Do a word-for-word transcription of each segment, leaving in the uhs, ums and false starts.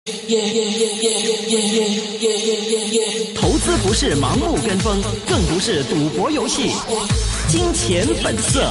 投資不是盲目跟風，更不是賭博遊戲。金錢本色。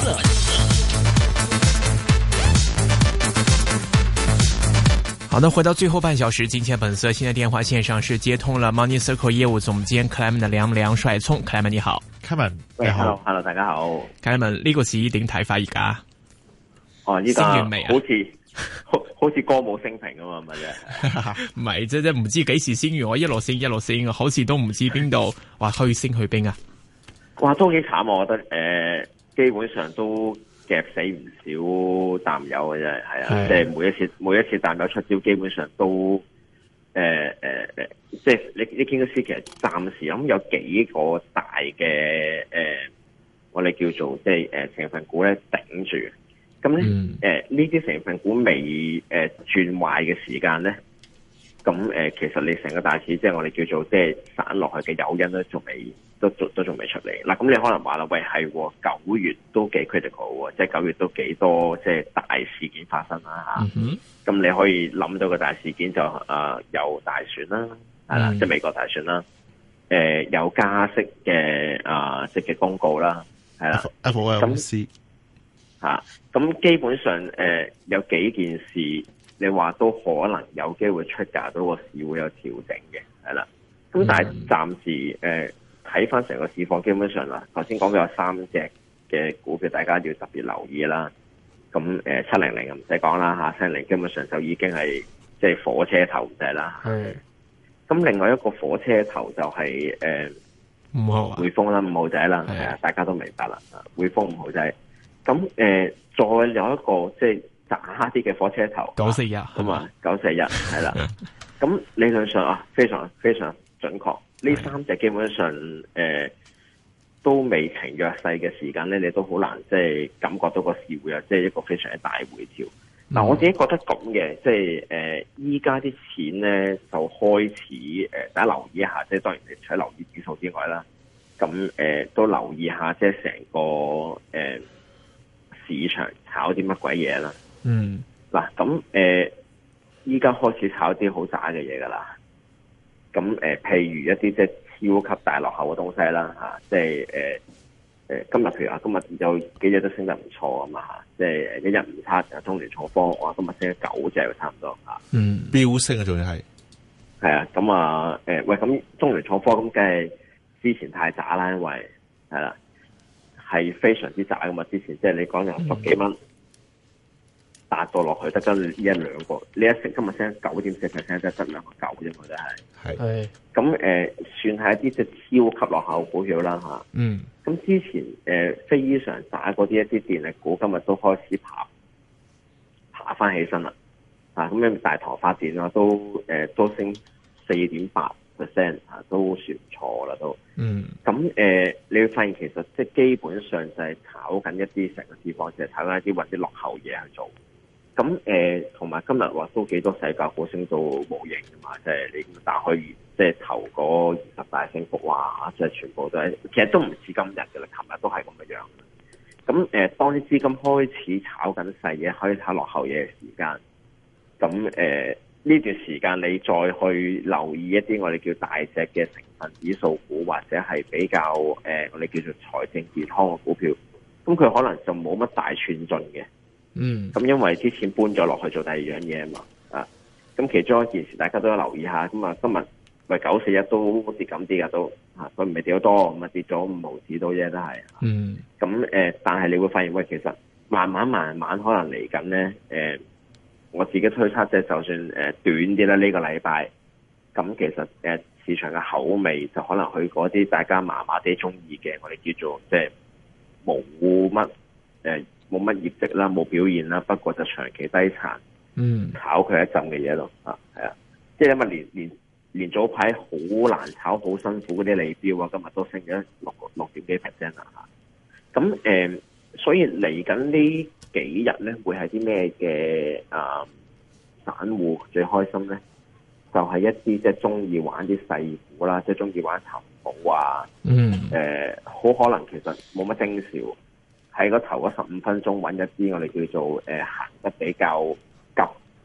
好的，回到最後半小時，金錢本色。現在電話線上是接通了 Money Circle 業務總監 Clement 的梁梁帥聰。Clement 你好 ，Clement， 你好 ，Hello， 大家好 ，Clement 呢個市點睇法而家？ 哦，依家升完未啊？ 好似好好似歌舞升平啊嘛，咪啫？ 唔係即係唔知幾時升完，我一路升一路升，好似都唔知邊度話可以升去邊啊！ 哇，都幾慘，我覺得誒、呃，基本上都夾死唔少淡友嘅啫，係啊，即係每一次每一次淡友出招，基本上都誒誒誒，即係你你見到其實暫時咁有幾個大嘅誒、呃，我哋叫做即係誒、呃、成分股咧頂住。咁咧，誒呢啲成分股未誒、呃、轉壞嘅時間咧，咁誒、呃、其實你成個大市即係我哋叫做即係散落去嘅誘因咧，仲未都都都仲未出嚟。嗱，咁你可能話啦，喂係九月都幾 critical 喎，即係九月都幾多即係大事件發生啦嚇。咁、嗯、你可以諗到個大事件就誒、呃、有大選啦，係啦、嗯，即係美國大選啦，誒、呃、有加息嘅啊即係嘅公告啦，係啦 ，F O M C。 吓，咁、啊、基本上誒、呃、有幾件事，你話都可能有機會出價到個市會有調整嘅，係啦。咁但係暫時誒睇翻成個市況，基本上啦，頭先講嘅有三隻嘅股票，大家要特別留意啦。咁誒七零零唔使講啦吓，七零零基本上就已經係即係火車頭唔使啦。係。咁另外一個火車頭就係誒五號匯豐啦，五號仔啦，係啊，大家都明白啦。匯豐五號仔。咁誒、呃，再有一個即係渣啲嘅火車頭，九四一咁啊，九四一係啦。咁理論上啊，非常非常準確。呢三隻基本上誒、呃、都未呈弱勢嘅時間咧，你都好難即係感覺到個市會有即係一個非常之大回調。嗱、嗯，我自己覺得咁嘅，即係誒依家啲錢咧就開始誒、呃，大家留意一下，即係當然你除咗留意指數之外啦，咁誒、呃、都留意一下即係成個誒。呃市場炒啲乜鬼嘢啦？嗯，嗱咁誒，依家開始炒啲好渣嘅嘢噶啦。咁誒、呃，譬如一啲即係超級大落後嘅東西啦，吓、啊，即係誒誒，今日譬如話今日有幾日都升得唔錯啊嘛，吓，即係一日唔差，中聯重科，哇，今日升咗九隻，差唔多吓。嗯， 飆升啊，仲要係係啊，咁啊，誒、呃，喂，咁中聯重科咁，梗係之前太渣啦，因為係啦。係非常之窄噶嘛，之前即係你講有十幾蚊達到落去，得咗呢一兩個，呢一成今日升九點四 percent， 得得兩個九啫嘛，真係。係。咁誒、呃，算係一啲即係超級落後股票啦吓。嗯。咁之前誒、呃、非常渣嗰啲一啲電力股，今日都開始爬爬翻起身啦。啊，咁樣大唐發電啊，都誒、呃、都升四點八。percent 啊，都算唔錯啦，都。嗯。咁誒、呃，你會發現其實即係基本上就係炒緊一啲成個市況，就係炒緊一啲或者落後嘢去做。咁誒，同、呃、埋今日話都幾多細價股升到冇形㗎嘛，即係你打開即係頭嗰二十大升幅，哇！即係全部都係，其實都唔似今日嘅啦，琴日都係咁嘅樣。咁誒、呃，當啲資金開始炒緊細嘢，開始炒落後嘢嘅時間，咁誒。呃呢段時間你再去留意一啲我哋叫大隻嘅成分指數股，或者係比較誒、呃、我哋叫做財政健康嘅股票，咁佢可能就冇乜大寸進嘅。嗯，咁因為之前搬咗落去做第二樣嘢啊嘛，啊，咁其中一件事大家都要留意一下。咁啊，今日喂九四一都跌緊啲噶都，啊，佢唔係跌好多，咁啊跌咗五毫子到啫，都係。嗯，咁誒、呃，但係你會發現喂，其實慢慢慢慢可能嚟緊咧，誒、呃。我自己推測即係就算誒短啲啦，呢個禮拜咁其實誒市場嘅口味就可能去嗰啲大家麻麻地中意嘅，我哋叫做即係冇乜誒冇乜業績啦，冇表現啦，不過就長期低殘，嗯，炒佢一陣嘅嘢咯，啊係啊，即係因為連連連早排好難炒、好辛苦嗰啲利標啊，今日都升咗六六點幾 percent 啦嚇，咁誒、呃，所以嚟緊呢幾日咧會係啲咩嘅啊？散戶最開心咧，就係、是、一啲即係中意玩啲細股啦，即係中意玩尋寶啊。嗯。誒、呃，好可能其實冇乜徵兆，喺個頭嗰十五分鐘揾一啲我哋叫做誒行、呃、得比較急，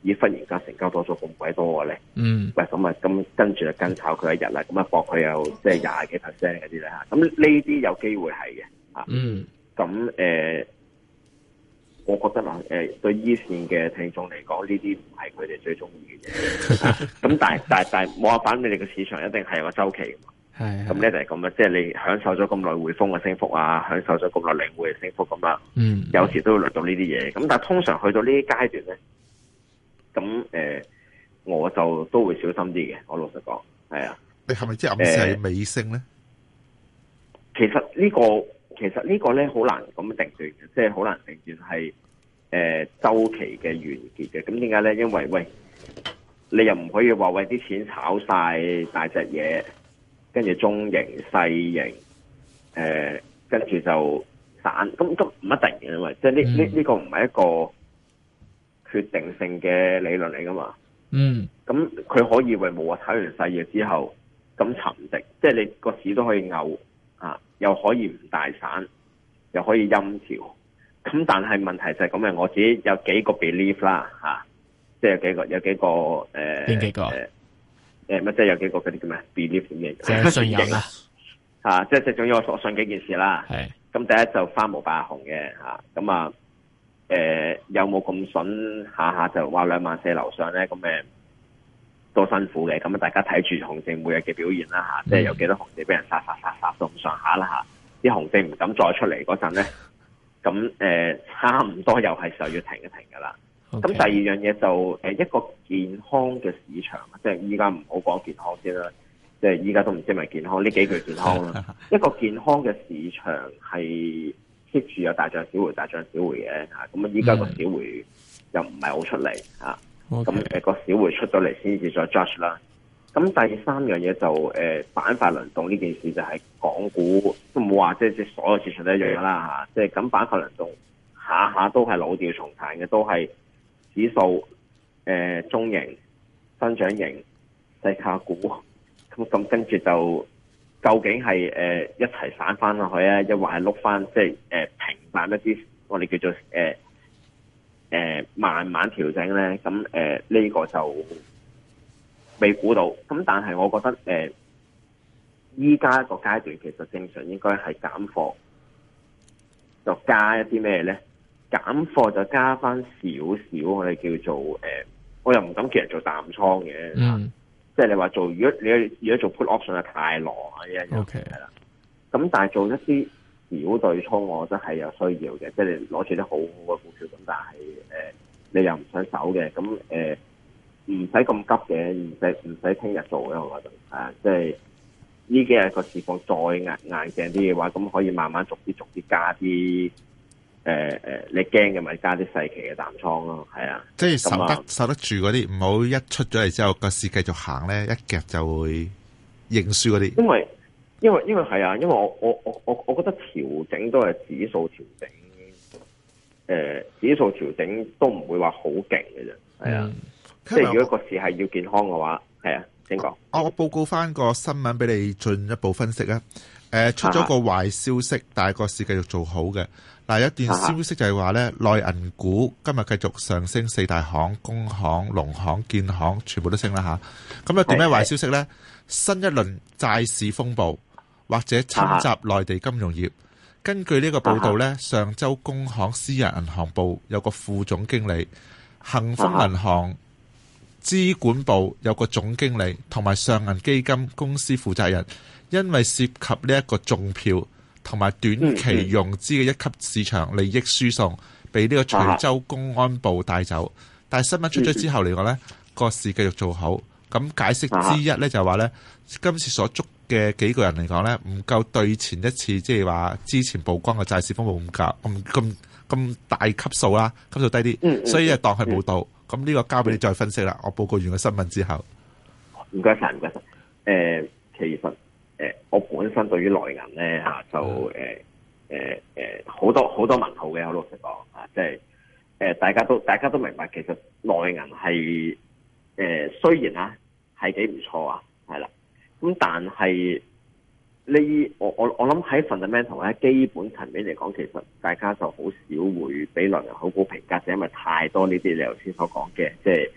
咦忽然間成交多咗咁鬼多嘅咧， 嗯， 喂咁啊咁跟住就跟炒佢一日啦，咁啊博佢有即係廿幾 percent 嗰啲咧嚇，咁呢啲有機會係嘅嚇， 嗯， 咁誒、呃，我覺得啦誒、呃、對依線嘅聽眾嚟講，呢啲唔係佢哋最中意嘅嘢，咁但係但係但係冇辦法，你哋嘅市場一定係有個週期嘅嘛。係，咁咧就係咁啦，即係你享受咗咁耐匯豐嘅升幅啊，享受咗咁耐領匯嘅升幅咁啦，嗯，有時都會輪到呢啲嘢，咁但係通常去到呢啲階段咧，咁誒、呃，我就都會小心啲嘅，我老實講，係啊， 你係咪即係暗示係尾聲咧？ 其實呢、這個其實呢個咧好難咁定斷嘅，即係好難定斷係誒週期嘅完結嘅，咁點解咧？因為喂，你又唔可以話喂啲錢炒晒大隻嘢。跟住中型、細型，誒、呃，跟住就散，咁都唔一定嘅，因為即係呢呢呢個唔係一個決定性嘅理論嚟噶嘛。嗯，咁佢可以為冇話炒完細嘢之後咁沉寂，即係你個市都可以牛啊，又可以唔大散，又可以陰調。咁但係問題就係咁嘅，我自己有幾個 belief 啦，嚇、啊，即係有幾個有幾個誒，邊、呃、 幾個？呃誒，乜即係有幾個嗰啲叫咩 belief 嘅， 即係信任啦， 吓，即係即係總之我所信幾件事啦。係，咁第一就花無百紅嘅吓，咁啊，誒、呃、有冇咁筍下下就話兩萬四樓上咧？咁誒都辛苦嘅，咁啊大家睇住熊證每日嘅表現啦吓，即係有幾多熊證俾人殺殺殺殺到咁上下啦吓，啲熊證唔敢再出嚟嗰陣咧，咁誒、呃、差唔多又係時候要停一停噶啦。咁、okay. 第二樣嘢就誒一個健康嘅市場，即係依家唔好講健康先啦，即係依家都唔知係咪健康呢幾句健康啦。一個健康嘅市場係 keep 住有大漲小回、大漲小回嘅嚇。咁啊依家個小回又唔係好出嚟嚇，咁誒個小回出咗嚟先至再 judge 啦。咁第三樣嘢就誒、呃、板塊輪動呢件事就係港股都冇話即係即係所有市場都一樣啦嚇，即係咁板塊輪動下下都係老調重彈嘅，都係。指數誒、呃、中型、增長型、細價股，咁咁跟住就究竟係誒、呃、一齊散翻落去啊，抑或係碌翻即係誒平淡一啲，我哋叫做誒誒、呃呃、慢慢調整咧。咁誒呢個就未估到。咁但係我覺得誒依家個階段其實正常應該係減貨，就加一啲咩咧？減貨就加翻少少，我哋叫做誒、呃，我又唔敢叫人做淡倉嘅，嗯，即係你話做，如果你如果做 put option 就太狼啊，一樣，OK 係啦。咁但係做一啲小對沖，我覺得係有需要嘅，即係你攞住啲好好嘅股票，咁但係誒、呃、你又唔想走嘅，咁誒唔使咁急嘅，唔使唔使聽日做嘅，我覺得啊，即係呢幾日個市況再硬硬淨啲嘅話，咁可以慢慢逐啲逐啲加啲。誒、呃、誒，你驚嘅咪加啲細期嘅淡倉咯，係啊， 即係受得受得住嗰啲，唔好一出咗嚟之後個市繼續行咧，一夾就會認輸嗰啲。 因為因為因為係啊，因為我我我我我覺得調整都係指數調整，誒、呃，指數調整都唔會話好勁嘅啫，係啊，嗯、即係如果個市係要健康嘅話，係啊，請講。 我我報告翻個新聞俾你進一步分析啊。誒、呃，出咗個壞消息，但係個市繼續做好嘅。嗱，有一段消息就係話咧，內銀股今日繼續上升，四大行、工行、農行、建行全部都升啦吓。咁啊，點咩壞消息咧？新一輪債市風暴或者侵襲內地金融業。根據呢個報道咧，上周工行私人銀行部有個副總經理，恒豐銀行資管部有個總經理，同埋上銀基金公司負責人。因為涉及呢一個中票同埋短期融資嘅一級市場利益輸送，被呢個徐州公安部帶走。但係新聞出咗之後嚟講呢，個市繼續做好。咁解釋之一呢，就係話呢，今次所捉嘅幾個人嚟講呢，唔夠對前一次即係話之前曝光嘅債市風暴咁夾咁咁咁大級數啦，級數低啲，所以就當係冇到。咁呢個交俾你再分析啦。我報告完個新聞之後， 唔該晒，唔該晒。誒、呃，其實。誒、呃，我本身對於內銀咧嚇就誒誒誒好多好多問號嘅，我老實講啊，即係誒大家都大家都明白，其實內銀係誒雖然啊係幾唔錯啊，係啦，咁但係呢我我我諗喺 fundamental 咧基本層面嚟講，其實大家就好少會俾內銀好高評價，就因為太多呢啲你頭先所講嘅，即係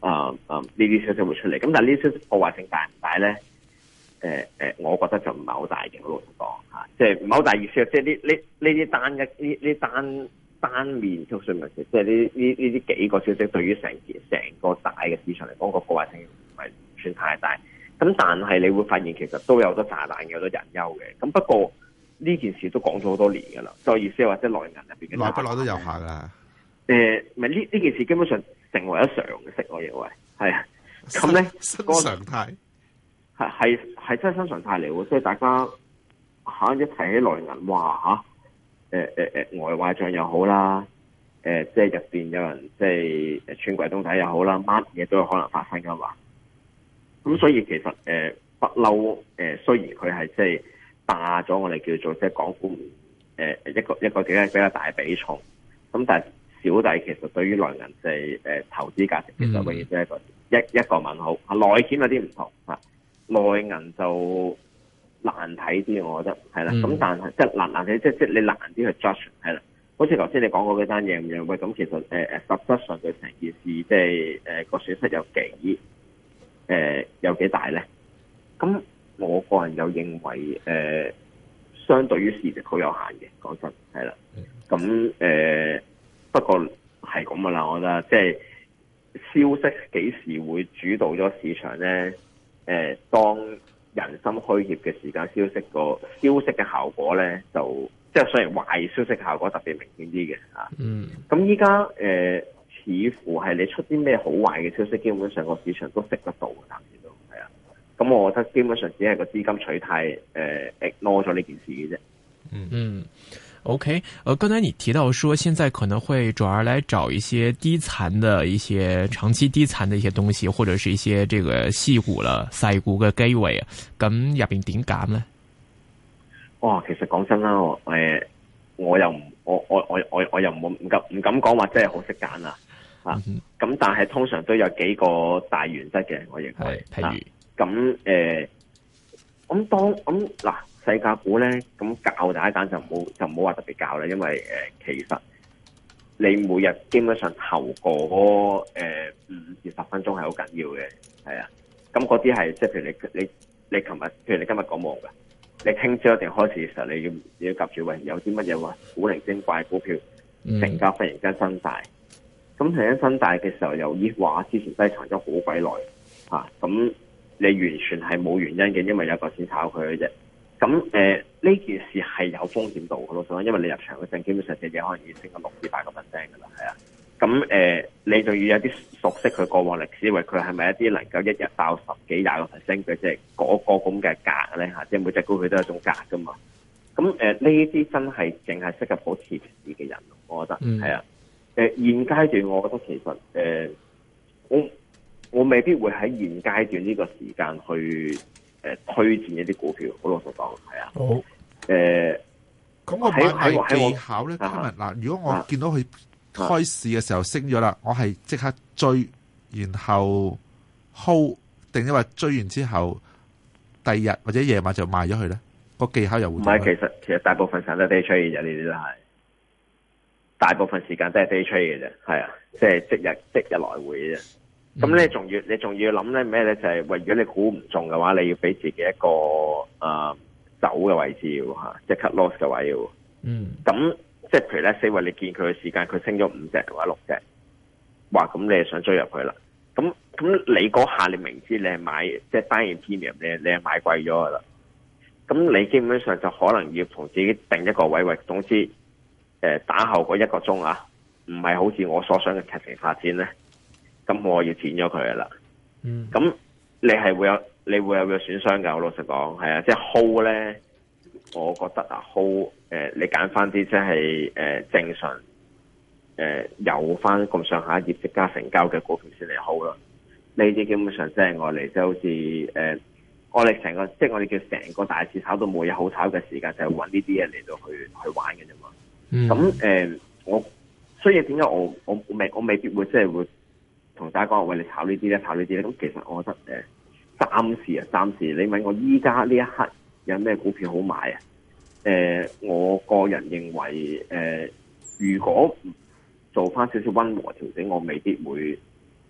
啊啊呢啲消息會出嚟。咁但係呢啲消息破壞性大唔大咧？誒、呃、誒，我覺得就唔係好大嘅，好老實講嚇，即係唔係好大意思啊！即係呢呢呢啲單一呢呢單單面消息咪即係呢呢呢啲幾個消息對於成件成個大嘅市場嚟講個破壞性唔係唔算太大。咁但係你會發現其實都有好多炸彈嘅，有好多隱憂嘅。咁不過呢件事都講咗好多年㗎啦。再意思係話即係內銀入邊嘅， 耐不耐都有下㗎。 誒，咪呢呢件事基本上成為咗常識，我認為係啊。咁咧， 新常態係係係真係新常態嚟喎，即係大家嚇一提起內銀，哇嚇，誒誒誒外壞帳又好啦，誒、呃、即係入邊有人即係誒穿櫃桶底又好啦，乜嘢都有可能發生噶嘛。咁所以其實誒不嬲誒，雖然佢係即係霸咗我哋叫做即係港股誒一個一個比較比較大嘅比重，咁但係小弟其實對於內銀即係誒投資價值其實永遠都係一個、嗯、一一個問號。內險有啲唔同嚇。內銀就難睇啲，我覺得係啦。咁、嗯、但係即係難難睇，即係即係你難啲去 judge 係啦。好似頭先你講過嗰單嘢咁樣，喂，咁其實誒誒、呃、實質上對成件事即係誒個損失有幾誒、呃、有幾大咧？咁我個人又認為誒、呃，相對於市值好有限嘅，講真係啦。咁誒、呃、不過係咁噶啦，我覺得即係消息幾時會主導咗市場咧？誒、呃，當人心虛怯嘅時間，消息個消息嘅效果咧，就即係雖然壞消息效果特別明顯啲嘅嚇。嗯。咁依家誒，似乎係你出啲咩好壞嘅消息，基本上個市場都食得到嘅，暫時都係啊。咁我覺得基本上只係個資金取態誒 ignore 咗呢件事嘅啫。 嗯嗯。OK，呃，剛才你提到說，現在可能會轉而來找一些低殘的一些長期低殘的一些東西，或者是一些這個細股啦、細股嘅機會啊，咁入邊點揀咧？ 哇，其實講真啦，我誒，我又唔，我我我我我又唔唔敢唔敢講話真係好識揀啦，吓、嗯，咁、啊、但係通常都有幾個大原則嘅，我認為，譬如咁誒，咁、呃、當咁嗱。嗯細價股咧，咁教大家揀就唔好就唔好話特別教啦，因為誒、呃、其實你每日基本上投過誒五至十分鐘係好緊要嘅，係啊。咁嗰啲係即係譬如你你你琴日，譬如你今日講冇嘅，你聽朝一定開始嘅時候，你要你要夾住喂有啲乜嘢話古靈精怪股票成交忽然間增大，咁突然間增大嘅時候又咦話之前低藏咗好鬼耐嚇，咁、啊、你完全係冇原因嘅，因為有個先炒佢嘅啫。咁誒呢件事係有風險度嘅咯，因為你入場嘅陣基本上隻嘢可能已經升咗六至八個 percent 嘅啦，係啊。咁誒、呃、你就要有啲熟悉佢過往歷史，因為佢係咪一啲能夠一日爆十幾廿個 percent 嘅即係嗰個咁嘅價咧嚇，即係每隻股佢都有一種價噶嘛。咁誒呢啲真係淨係適合保持市嘅人，我覺得係啊。誒、呃、現階段我覺得其實誒、呃、我我未必會喺現階段呢個時間去。誒，推薦一啲股票，好老實講，係啊。好。誒、呃， 咁我買賣技巧咧，今日嗱，如果我見到佢開市嘅時候升咗啦、啊，我係即刻追，然後 hold，定抑或追完之後，第二日或者夜晚就賣咗佢咧？個技巧又會唔係？其實其實大部分時間都係 day trade 嘅啫，呢啲都係。大部分時間都係 day trade 嘅啫，係啊，即係即日即日來回嘅啫。咁、嗯、你仲要你仲要諗咧咩咧？就係、是、喂，如果你估唔中嘅話，你要俾自己一個誒、呃、走嘅位置要吓，即係 cut loss 嘅位要。嗯。咁即係譬如咧，四位你見佢嘅時間，佢升咗五隻或者六隻，哇！咁你係想追入去啦？咁咁你嗰下你明知你係買即係單然 premium，你你係買貴咗噶啦。咁你基本上就可能要同自己定一個位位，總之誒、呃、打後嗰一個鐘啊，唔係好似我所想嘅劇情發展咧。咁我要剪咗佢噶啦，咁、嗯、你係會有你會有個損傷噶，我老實講係啊，即係 hold 咧，我覺得啊 hold 誒、呃，你揀翻啲即係誒正常誒、呃、有翻咁上下業績加成交嘅股票先嚟 hold 咯。呢啲基本上即係我哋即係好似誒，我哋成個即係我哋叫成個大市炒到冇嘢好炒嘅時間，就係揾呢啲嘢嚟到去去玩嘅啫嘛。咁、嗯、誒、呃，我所以點解我我未我未必會即係會。同大家講，喂，你炒呢啲咧，炒呢啲咧，咁其實我覺得誒，暫時啊，暫時你問我依家呢一刻有咩股票好買啊？誒、呃，我個人認為誒、呃，如果做翻少少溫和調整，我未必會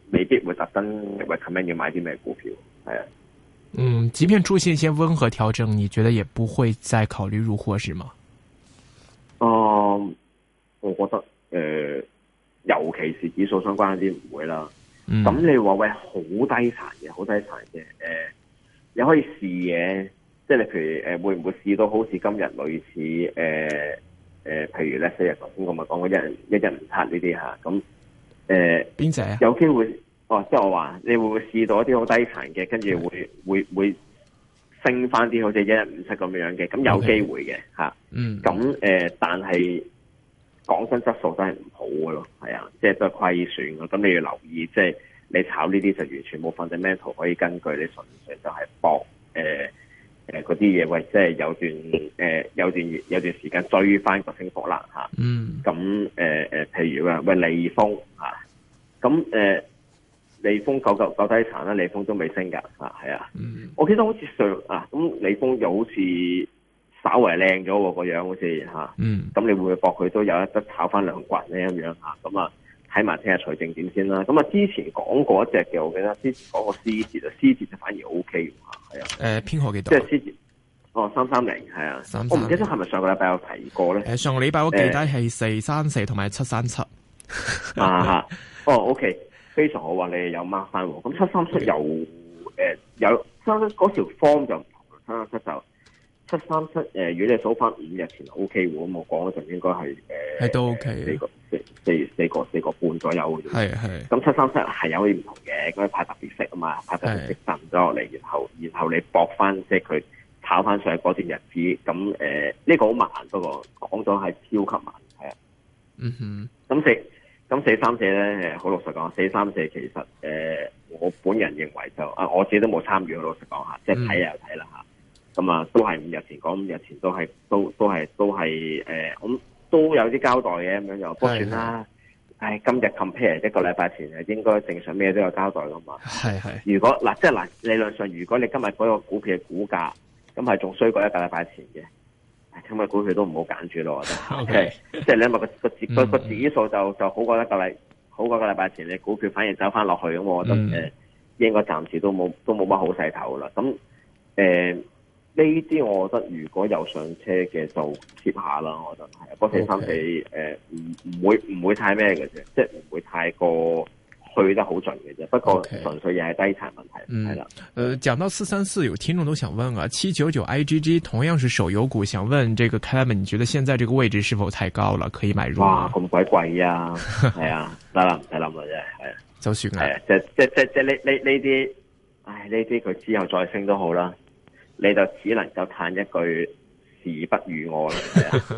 未必會特登 recommend 要買啲咩股票，係啊。 嗯，即便出現一些溫和調整，你覺得也不會再考慮入貨，是嗎？ 哦、嗯，我覺得誒、呃，尤其是指數相關啲唔會啦。咁、嗯、你話喂好低殘嘅，好低殘嘅，誒、呃，你可以試嘅，即係你譬如誒、呃、會唔會試到好似今日類似誒誒、呃呃，譬如咧四日頭先我咪講過一日一日唔測呢啲吓，咁誒邊隻啊？有機會哦，即係我話你會唔會試到一啲好低殘嘅，跟住會會會升翻啲好似一日唔測咁樣嘅，咁有機會嘅吓。Okay. 嗯。咁誒、呃，但係講真質素真係唔好嘅咯，係啊，即係都係虧損嘅。咁你要留意，即係你炒呢啲就完全冇 fundamental 可以根據，你純粹就係搏誒誒嗰啲嘢，喂，即係有段誒、呃、有段有段時間追翻個升幅啦吓。嗯。咁誒誒，譬如話喂利豐吓，咁誒利豐九九九低殘啦，利豐都未升噶吓，係啊。嗯。我記得好似上啊，咁利豐又好似稍為靚咗喎，個樣好似吓。嗯。咁你會唔會搏佢都有一得炒翻兩棍咧咁樣吓？咁啊，睇埋聽日財政點先啦。咁啊，之前講過一隻嘅，我記得之前講過獅子啊，獅子就反而 O K 吓，係啊。誒，編號幾多？即係獅子。哦，三三零係啊。三三零。我唔記得係咪上個禮拜有提過咧？誒，上個禮拜我記得係四三四同埋七三七。啊哈。哦 ，OK。非常好話你有 mark 翻喎，咁七三七有誒有三嗰條 form 就唔同啦，七三七就七三七誒，如果你數翻五日前 O K 喎，咁我講嗰陣應該係誒係都 OK 四個四四四個四個半左右嘅啫，係係。咁七三七係有啲唔同嘅，咁派特別息啊嘛，派特別息震咗落嚟，然後然後你搏翻即係佢炒翻上去嗰段日子，咁誒呢個好慢，不過講咗係超級慢，係啊，嗯哼，咁四。咁四三四咧，好老實講，四三四其實誒、呃，我本人認為就啊，我自己都冇參與，好老實講下，即係睇又睇啦吓。咁啊，都係五日前講，五日前都係都都係都係誒，咁、呃、都有啲交代嘅咁樣，就不算啦。唉，今日 compare 一個禮拜前係應該正常咩都有交代噶嘛。係係。如果嗱，即係嗱，理論上如果你今日嗰個股票嘅股價，咁係仲衰過一個禮拜前嘅。今日股票都唔好揀住咯，我覺得。O K，即係你因為個個指個個指數就就好過一個禮好過一個禮拜前，你股票反而走翻落去，咁我覺得誒、嗯呃、應該暫時都冇都冇乜好勢頭啦。咁誒呢啲我覺得如果有上車嘅就貼下啦，我覺得係。不過四三四誒唔唔會唔會太咩嘅啫，即係唔會太過去得好盡嘅啫，不過純粹又係低殘問題，係啦。 呃，講到四三四，有聽眾都想問啊，七九九 I G G 同樣是手遊股，想問這個 Clement，你覺得現在這個位置是否太高了，可以買入？ 哇，咁鬼貴啊！係啊，得啦，唔使諗啦，真係，係啊， 就算係啊，即即即即呢呢呢啲，唉，呢啲佢之後再升都好啦，你就只能夠嘆一句時不與我啦，係啊。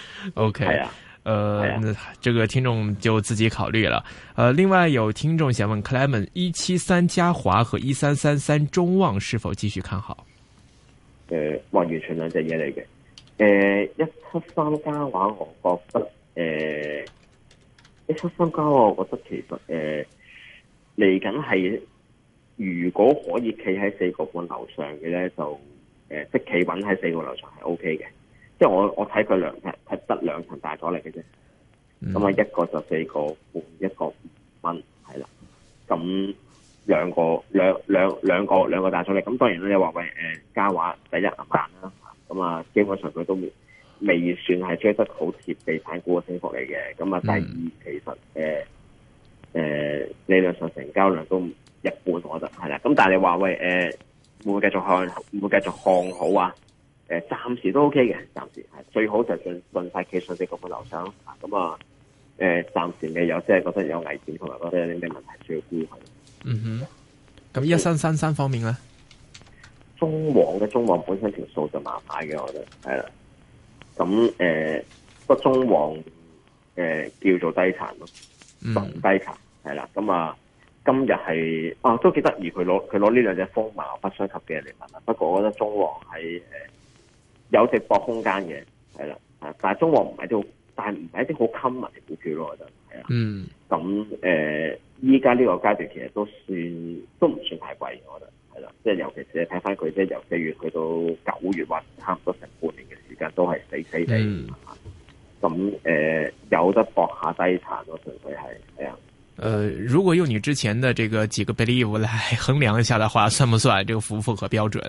OK，係啊。呃， 啊、 這個聽眾就自己考慮了。呃，另外有聽眾想問 Clement， 一七三嘉華和一三三三中旺是否繼續看好？ 誒、呃，哇，完全兩隻嘢嚟嘅。誒、呃，一七三嘉華，我覺得誒，一七三嘉華，我覺得其實誒嚟緊係，如果可以企喺四個半樓上嘅咧，就誒、呃、即企穩喺四個樓上係 O K 嘅。即係我我睇佢兩係係得兩層大阻力嘅啫，咁啊、嗯、一個就四個半，一個五蚊係啦，咁兩個兩兩兩個兩個大阻力，咁當然咧你話喂誒嘉華第一銀彈啦，咁啊基本上佢都未未算係追得好貼地產股嘅升幅嚟嘅，咁啊第二、嗯、其實誒誒、呃呃、理論上成交量都一半，我覺得係啦，咁但係你話喂誒、呃、會唔會繼續看會唔會繼續看好啊？誒，暫時都 OK 嘅，暫時係最好就盡盡快企上四個半樓上咯。咁啊，誒，暫時未有，即係覺得有危險，同埋覺得有啲咩問題需要顧慮。嗯哼。咁一三三三方面咧，中旺嘅中旺本身條數就麻麻嘅，我覺得係啦。咁誒，不過中旺誒、呃、叫做低殘咯，純低殘係啦。咁啊，今日係啊都幾得意，佢攞佢攞呢兩隻風貌不相及嘅嚟問啦。不過我覺得中旺喺誒。有直播空間嘅，係啦，啊，但係中旺唔係啲好，但係唔係一啲好 common 嘅股票咯，我覺得係啊。嗯。咁誒，依家呢個階段其實都算都唔算太貴，我覺得係啦。即係尤其是睇翻佢，即係由四月去到九月，或差唔多成半年嘅時間都係死死地。咁誒、嗯呃，有得搏下低殘咯，純粹係係啊。誒、 呃，如果用你之前的這個幾個 believe 來衡量一下的話，算不算這個符唔符合標準？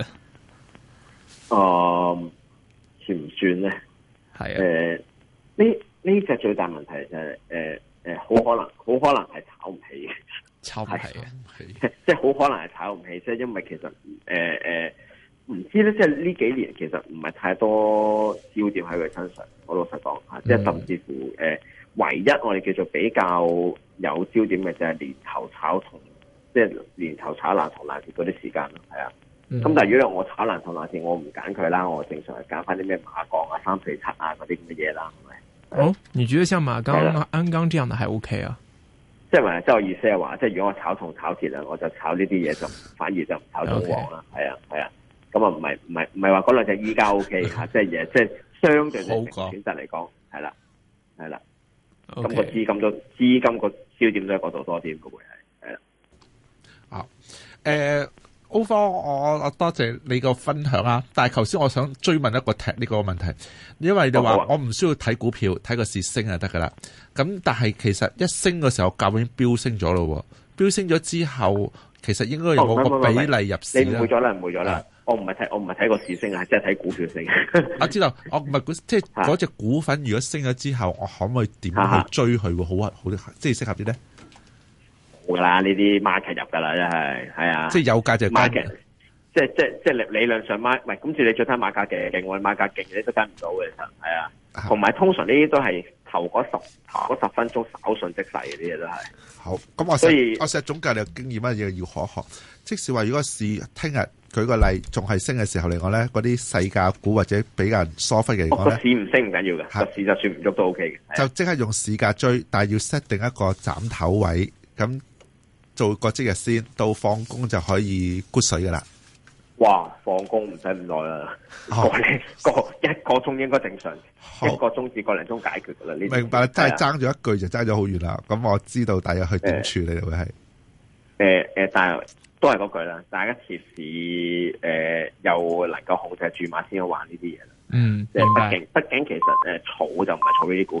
哦、呃，算唔算咧？係啊。誒，呢呢隻最大問題就係誒誒，好可能好可能係炒唔起嘅， 炒唔起嘅， 即係好可能係炒唔起，即係因為其實誒誒。呃呃唔知咧，即係呢幾年其實唔係太多焦點喺佢身上。我老實講吓，即係甚至乎誒、呃，唯一我哋叫做比較有焦點嘅就係年頭炒同，即係年頭炒爛銅爛鐵嗰啲時間咯，係啊。咁、嗯、但係如果我炒爛銅爛鐵，我唔揀佢啦，我正常係揀翻啲咩馬鋼啊、三四七啊嗰啲咁嘅嘢啦，係咪？ 哦，你覺得像馬鋼、鞍鋼這樣的還 OK 啊？即係話，即係我意思係話，即係如果我炒銅炒鐵啊，我就炒呢啲嘢，就反而就唔炒銅黃啦。係啊，係啊。咁啊，唔係唔係唔係話嗰兩隻依家 O K 吓，即係嘢，即係相對嚟選擇嚟講，係啦，係啦。咁個資金都資金個焦點都喺嗰度多啲嘅會係，係啦。 啊，誒，歐方，我我多謝你個分享啊！但係頭先我想追問一個踢呢個問題，因為你話我唔需要睇股票，睇個市升就得噶啦。咁但係其實一升嘅時候，價已經飆升咗咯，飆升咗之後，其實應該有冇個比例入市咧？ 你誤會咗啦，誤會咗啦。我唔係睇，我唔係睇個市升啊，即係睇股票升。 我知道，我唔係即係嗰隻股份，如果升咗之後，我可唔可以點去追佢？會好啊，好啲，即係適合啲咧。 好噶啦，呢啲 market 入噶啦，真係係啊。 即係有價就 market，即係即係即係理理論上 market，唔係咁。似你最睇馬價勁勁，我哋馬價勁，你都跟唔到嘅，其實係啊。同埋通常呢啲都係頭嗰十頭嗰十分鐘稍縱即逝嘅啲嘢都係。好，咁我所以我成日總結你嘅經驗乜嘢要可學。即使話如果市聽日舉個例仲係升嘅時候嚟講咧，嗰啲細價股或者比較疏忽嘅嚟講咧，個市唔升唔緊要嘅，個市就算唔喐都 O K 嘅。就即刻用市價追，但係要 set 定一個斬頭位，咁做個即日先，到放工就可以沽水噶啦。哇！放工唔使咁耐啦，個零個一個鐘應該正常，一個鐘至個零鐘解決噶啦。呢明白，真係爭咗一句就爭咗好遠啦。咁我知道大約去點處理會係誒誒，但係都係嗰句啦，大家設市誒又能夠控制住碼先去玩呢啲嘢啦。嗯，即係畢竟畢竟其實誒炒就唔係炒呢啲股。